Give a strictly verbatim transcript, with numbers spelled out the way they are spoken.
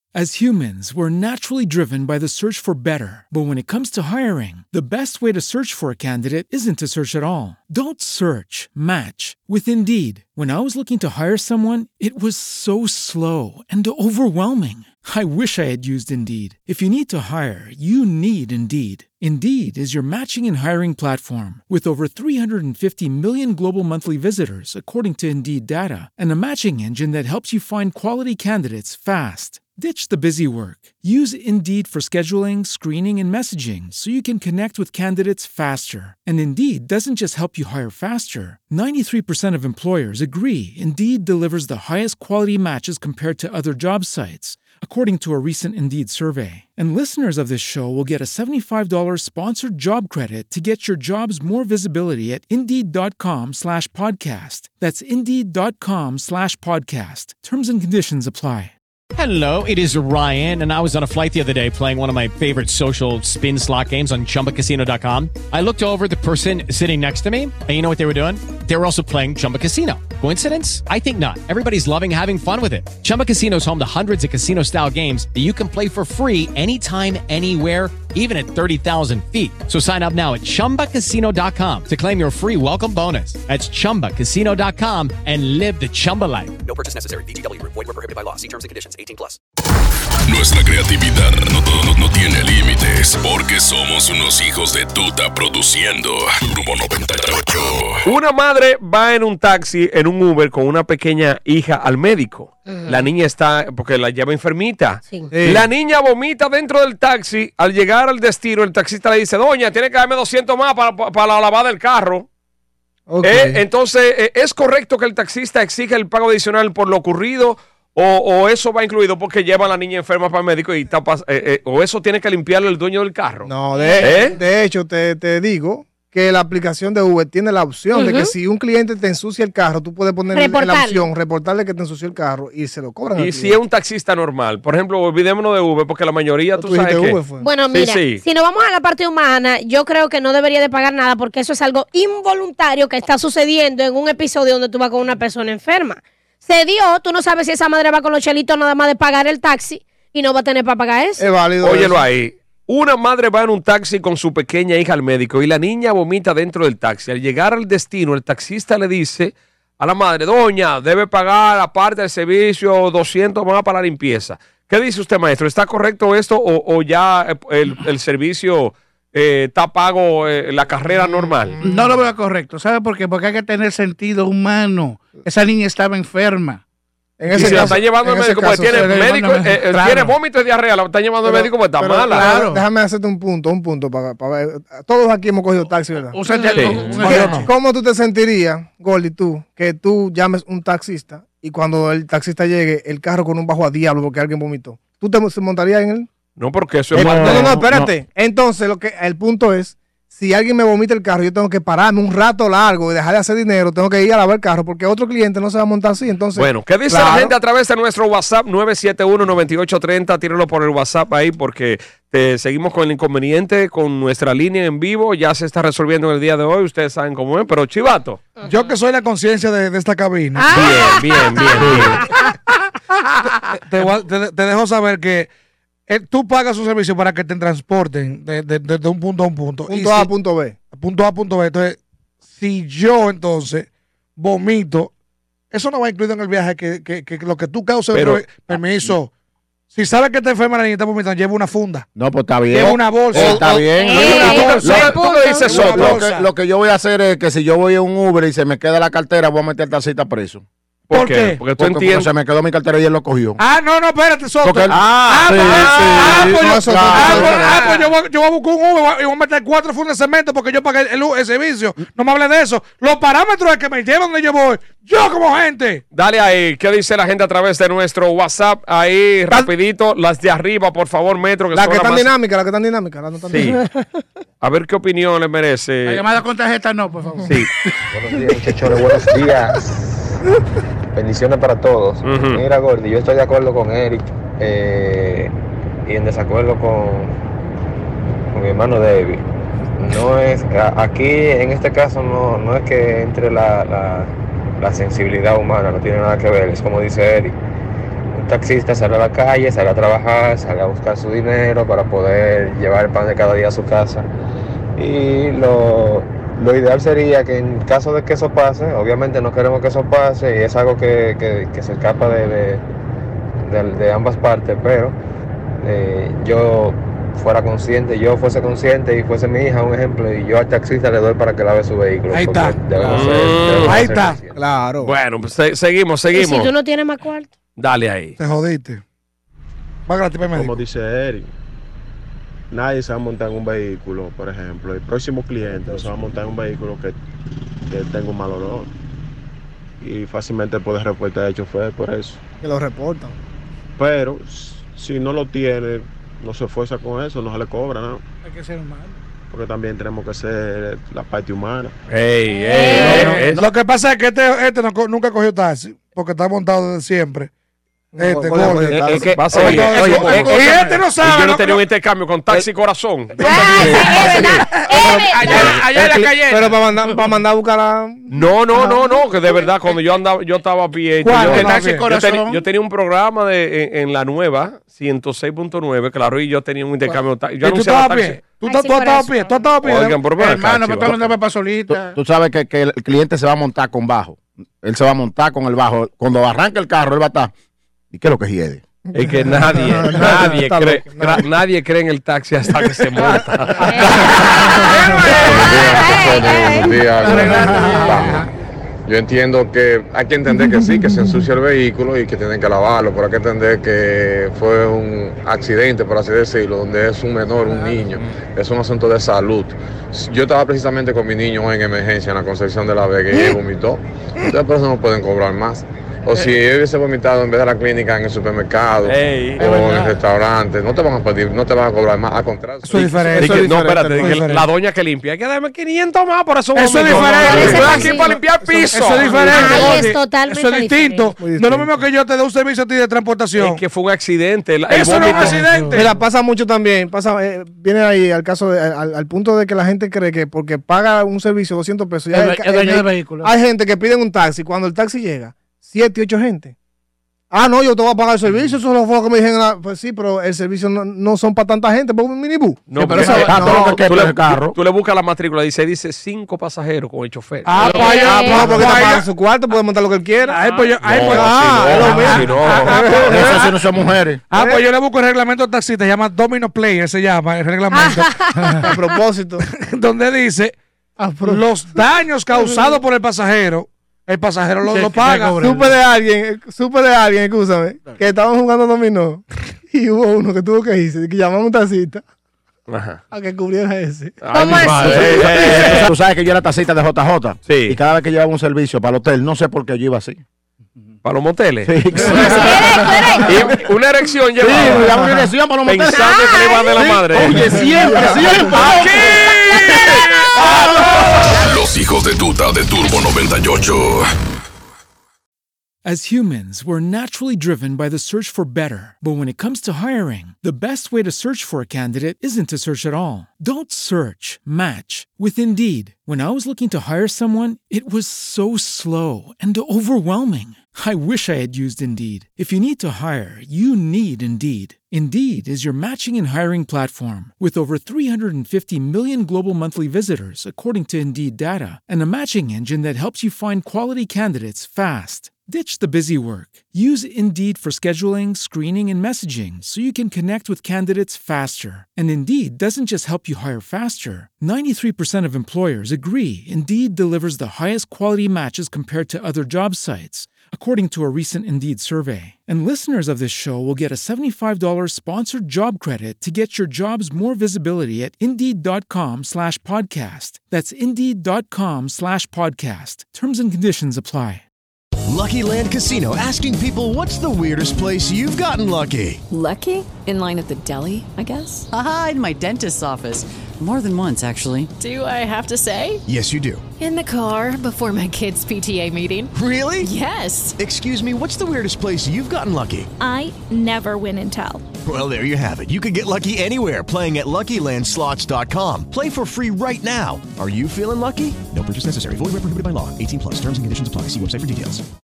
As humans, we're naturally driven by the search for better. But when it comes to hiring, the best way to search for a candidate isn't to search at all. Don't search, match with Indeed. When I was looking to hire someone, it was so slow and overwhelming. I wish I had used Indeed. If you need to hire, you need Indeed. Indeed is your matching and hiring platform with over three hundred fifty million global monthly visitors, according to Indeed data, and a matching engine that helps you find quality candidates fast. Ditch the busy work. Use Indeed for scheduling, screening, and messaging so you can connect with candidates faster. And Indeed doesn't just help you hire faster. ninety-three percent of employers agree Indeed delivers the highest quality matches compared to other job sites, according to a recent Indeed survey. And listeners of this show will get a seventy-five dollars sponsored job credit to get your jobs more visibility at Indeed.com slash podcast. That's Indeed.com slash podcast. Terms and conditions apply. Hello, it is Ryan, and I was on a flight the other day playing one of my favorite social spin slot games on Chumba Casino dot com. I looked over at the person sitting next to me, and you know what they were doing? They were also playing Chumba Casino. Coincidence? I think not. Everybody's loving having fun with it. Chumba Casino is home to hundreds of casino-style games that you can play for free anytime, anywhere, even at thirty thousand feet. So sign up now at Chumba Casino dot com to claim your free welcome bonus. That's Chumba Casino dot com and live the Chumba life. No purchase necessary. V G W. Void where prohibited by law. See terms and conditions. eighteen plus. Nuestra creatividad no, no, no tiene límites porque somos unos hijos de tuta produciendo Turbo noventa y ocho. Una madre va en un taxi, en un Uber, con una pequeña hija al médico. Uh-huh. La niña está, porque la lleva enfermita. Sí. Sí. La niña vomita dentro del taxi. Al llegar al destino, el taxista le dice, doña, tiene que darme doscientos más para, para, para la lavada del carro. Okay. Eh, entonces, eh, ¿es correcto que el taxista exija el pago adicional por lo ocurrido? O, o eso va incluido porque lleva a la niña enferma para el médico y está, eh, eh, o eso tiene que limpiarlo el dueño del carro. No, de, ¿Eh? de hecho, te, te digo que la aplicación de Uber tiene la opción uh-huh. de que si un cliente te ensucia el carro, tú puedes poner en la opción, reportarle que te ensució el carro y se lo cobran. Y si es un taxista normal, por ejemplo, olvidémonos de Uber, porque la mayoría tú, tú sabes que... Uber fue. Bueno, mira, sí, sí. si nos vamos a la parte humana, yo creo que no debería de pagar nada porque eso es algo involuntario que está sucediendo en un episodio donde tú vas con una persona enferma. Se dio, tú no sabes si esa madre va con los chelitos nada más de pagar el taxi y no va a tener para pagar eso. Es válido. Óyelo eso. Ahí. Una madre va en un taxi con su pequeña hija al médico y la niña vomita dentro del taxi. Al llegar al destino, el taxista le dice a la madre, doña, debe pagar aparte del servicio doscientos más para la limpieza. ¿Qué dice usted, maestro? ¿Está correcto esto o, o ya el, el servicio eh, está pago eh, la carrera normal? No lo veo correcto. ¿Sabe por qué? Porque hay que tener sentido humano. Esa niña estaba enferma. En ese y si caso, la está llevando al médico porque tiene, médico, eh, claro. tiene vómito y diarrea, la está llevando al médico porque está pero, mala. Claro. Déjame hacerte un punto, un punto para, para ver. Todos aquí hemos cogido taxi, ¿verdad? O sea, sí. ¿Cómo, sí. ¿Cómo tú te sentirías, Gordy, tú, que tú llames un taxista y cuando el taxista llegue, el carro con un bajo a diablo porque alguien vomitó? ¿Tú te montarías en él? No, porque eso es no, mal. No, no, no, espérate. No. Entonces, lo que el punto es, si alguien me vomita el carro, yo tengo que pararme un rato largo y dejar de hacer dinero, tengo que ir a lavar el carro porque otro cliente no se va a montar así. Entonces, bueno, ¿qué dice claro. la gente a través de nuestro WhatsApp nueve siete uno, nueve ocho tres cero? Tírenlo por el WhatsApp ahí porque te seguimos con el inconveniente con nuestra línea en vivo. Ya se está resolviendo en el día de hoy. Ustedes saben cómo es, pero Chivato. Yo que soy la conciencia de, de esta cabina. Ah. Bien, bien, bien, bien. te, te, te, te dejo saber que Eh, tú pagas un servicio para que te transporten de, de, de, de un punto a un punto. Punto y A a si, punto B. Punto A a punto B. Entonces, si yo entonces vomito, eso no va incluido en el viaje que, que, que lo que tú causes. Pero, permiso. Si sabes que te enferma la niña y está vomitando, lleva una funda. No, pues está bien. Lleva una bolsa. Eh, está bien. Lo, que, lo que yo voy a hacer es que si yo voy a un Uber y se me queda la cartera, voy a meter el taxista preso. ¿Por, ¿Por qué? qué? Porque tú porque, entiendes. Porque se me quedó mi cartera y él lo cogió. Ah, no, no, espérate, Soto. Él, ah, ah, sí, pues, sí, ah, sí, pues, no, yo, eso, ah, eso, pues, eso, ah, pues yo, voy, yo voy a buscar un Uber y voy a meter cuatro fundas de cemento porque yo pagué el, el, el servicio. No me hables de eso. Los parámetros es que me llevan donde yo voy. Yo como gente. Dale ahí. ¿Qué dice la gente a través de nuestro WhatsApp? Ahí, rapidito. Las de arriba, por favor, Metro. Que la que están más... dinámicas, la que están dinámicas. La no están sí. dinámicas. A ver qué opinión le merece. La llamada con tarjeta no, por favor. Sí. Buenos días, muchachones. Buenos días. Bendiciones para todos. Uh-huh. Mira, Gordy, yo estoy de acuerdo con Eric eh, y en desacuerdo con, con mi hermano David. No es, aquí en este caso no, no es que entre la, la, la sensibilidad humana, no tiene nada que ver, es como dice Eric. Un taxista sale a la calle, sale a trabajar, sale a buscar su dinero para poder llevar el pan de cada día a su casa. Y lo, lo ideal sería que en caso de que eso pase, obviamente no queremos que eso pase y es algo que, que, que se escapa de, de, de, de ambas partes, pero eh, yo fuera consciente, yo fuese consciente y fuese mi hija un ejemplo y yo al taxista le doy para que lave su vehículo. Ahí está. Debemos ser, debemos mm, ahí está. Claro. Bueno, pues se, seguimos, seguimos. ¿Y si tú no tienes más cuarto? Dale ahí. Te jodiste. Como dice Eric, nadie se va a montar en un vehículo, por ejemplo. El próximo cliente no se va a montar en un vehículo que, que tenga un mal olor. Y fácilmente puede reportar al chofer por eso. Que lo reportan. Pero si no lo tiene, no se esfuerza con eso, no se le cobra, ¿no? Hay que ser humano. Porque también tenemos que ser la parte humana. Ey, ey, ey, no, lo que pasa es que este, este no, nunca cogió taxi, porque está montado desde siempre. Este, no, oye, oye, es que, oye, oye, oye, oye, oye, oye, y este no sabe. y yo no no, tenía no, un intercambio con Taxi Corazón. Allá, allá en la calle. Pero para mandar, para mandar a buscar a... No, no, no, no, que de verdad, cuando yo andaba, yo estaba a pie. ¿Cuál? Yo, ¿El Taxi yo, Corazón? tenía, yo tenía un programa de, en, en la nueva, ciento seis punto nueve, claro, y yo tenía un intercambio. Yo ¿Y tú anunciaba estabas a taxi. pie? ¿Tú, tú, tú estabas a pie? ¿Tú estabas a pie? Oigan, por favor, hermano, cacho. pero tú andabas para solita. Tú sabes que, que el cliente se va a montar con bajo. Él se va a montar con el bajo. Cuando arranque el carro, él va a estar. ¿Y qué es lo que hiede? Es que nadie, nadie cree, gra- nadie cree en el taxi hasta que se monta. Buenos días. Vamos. Yo entiendo que hay que entender que sí, que se ensucia el vehículo y que tienen que lavarlo, pero hay que entender que fue un accidente, por así decirlo, donde es un menor, un niño, es un asunto de salud. Yo estaba precisamente con mi niño en emergencia en la Concepción de la Vega y él vomitó, entonces por eso no pueden cobrar más. O si él hubiese vomitado en vez de la clínica en el supermercado Ey, o en el restaurante, no te van a pedir, no te van a cobrar más, al contrario. Eso es diferente. Di que- Eso es no, diferente, espérate, eso es que la, diferente. la doña que limpia, hay que darme quinientos más por eso. Eso es vomitó. diferente. Estoy aquí para limpiar piso. Eso es diferente. Ahí Gordy. es totalmente Eso es distinto. diferente. No es lo mismo que yo te dé un servicio a ti de transportación. Es que fue un accidente. el- el Eso no es un vómito. accidente. Mira, pasa mucho también, pasa, eh, viene ahí al caso, de, al, al punto de que la gente cree que porque paga un servicio doscientos pesos, ya El- el- el dueño el- del vehículo. Hay gente que piden un taxi, cuando el taxi llega, siete, ocho gente. Ah, no, yo te voy a pagar el servicio, eso fue lo que me dijeron. la- Pues sí, pero el servicio no, no son para tanta gente, para un minibús. No, Sí, pero eso- eso- no, tú, tú le, el carro. tú le buscas la matrícula, dice, dice cinco pasajeros con el chofer. Ah, pues allá, Ah, pues, no, porque pues está allá. pagando su cuarto, puede montar lo que él quiera. Ay, pues yo, ay, No, pues, así ah, no, es lo así mismo. no. Ah, ah, pues, Eso sí no son mujeres. Ah, pues yo le busco el reglamento del taxista, se llama Domino Player, se llama el reglamento, A propósito. donde dice A pro- los daños causados por el pasajero, el pasajero lo, lo paga. Supe de alguien, supe de alguien, escúchame, que estaban jugando dominó y hubo uno que tuvo que irse, que llamaba a un taxista Ajá. a que cubriera ese. Ay, ¿Cómo mi así? madre. Eh, eh, Tú sabes que yo era tacita de J J. Sí. Y cada vez que llevaba un servicio para el hotel, no sé por qué yo iba así. Para los moteles. Sí, Y una erección sí, llevaba. me daba una dirección para los moteles. Pensando que le iba a dar la madre. Oye, siempre, siempre. Los hijos de tuta de Turbo noventa y ocho. As humans, we're naturally driven by the search for better. But when it comes to hiring, the best way to search for a candidate isn't to search at all. Don't search, match with Indeed. When I was looking to hire someone, it was so slow and overwhelming. I wish I had used Indeed. If you need to hire, you need Indeed. Indeed is your matching and hiring platform with over three hundred fifty million global monthly visitors, according to Indeed data, and a matching engine that helps you find quality candidates fast. Ditch the busy work. Use Indeed for scheduling, screening, and messaging so you can connect with candidates faster. And Indeed doesn't just help you hire faster. ninety-three percent of employers agree Indeed delivers the highest quality matches compared to other job sites, according to a recent Indeed survey. And listeners of this show will get a seventy-five dollars sponsored job credit to get your jobs more visibility at Indeed.com slash podcast. That's Indeed.com slash podcast. Terms and conditions apply. Lucky Land Casino, asking people, what's the weirdest place you've gotten lucky? Lucky? In line at the deli, I guess? Aha, in my dentist's office. More than once, actually. Do I have to say? Yes, you do. In the car before my kids' P T A meeting. Really? Yes. Excuse me, what's the weirdest place you've gotten lucky? I never win and tell. Well, there you have it. You can get lucky anywhere, playing at Lucky Land Slots dot com. Play for free right now. Are you feeling lucky? No purchase necessary. Void where prohibited by law. eighteen plus. Terms and conditions apply. See website for details.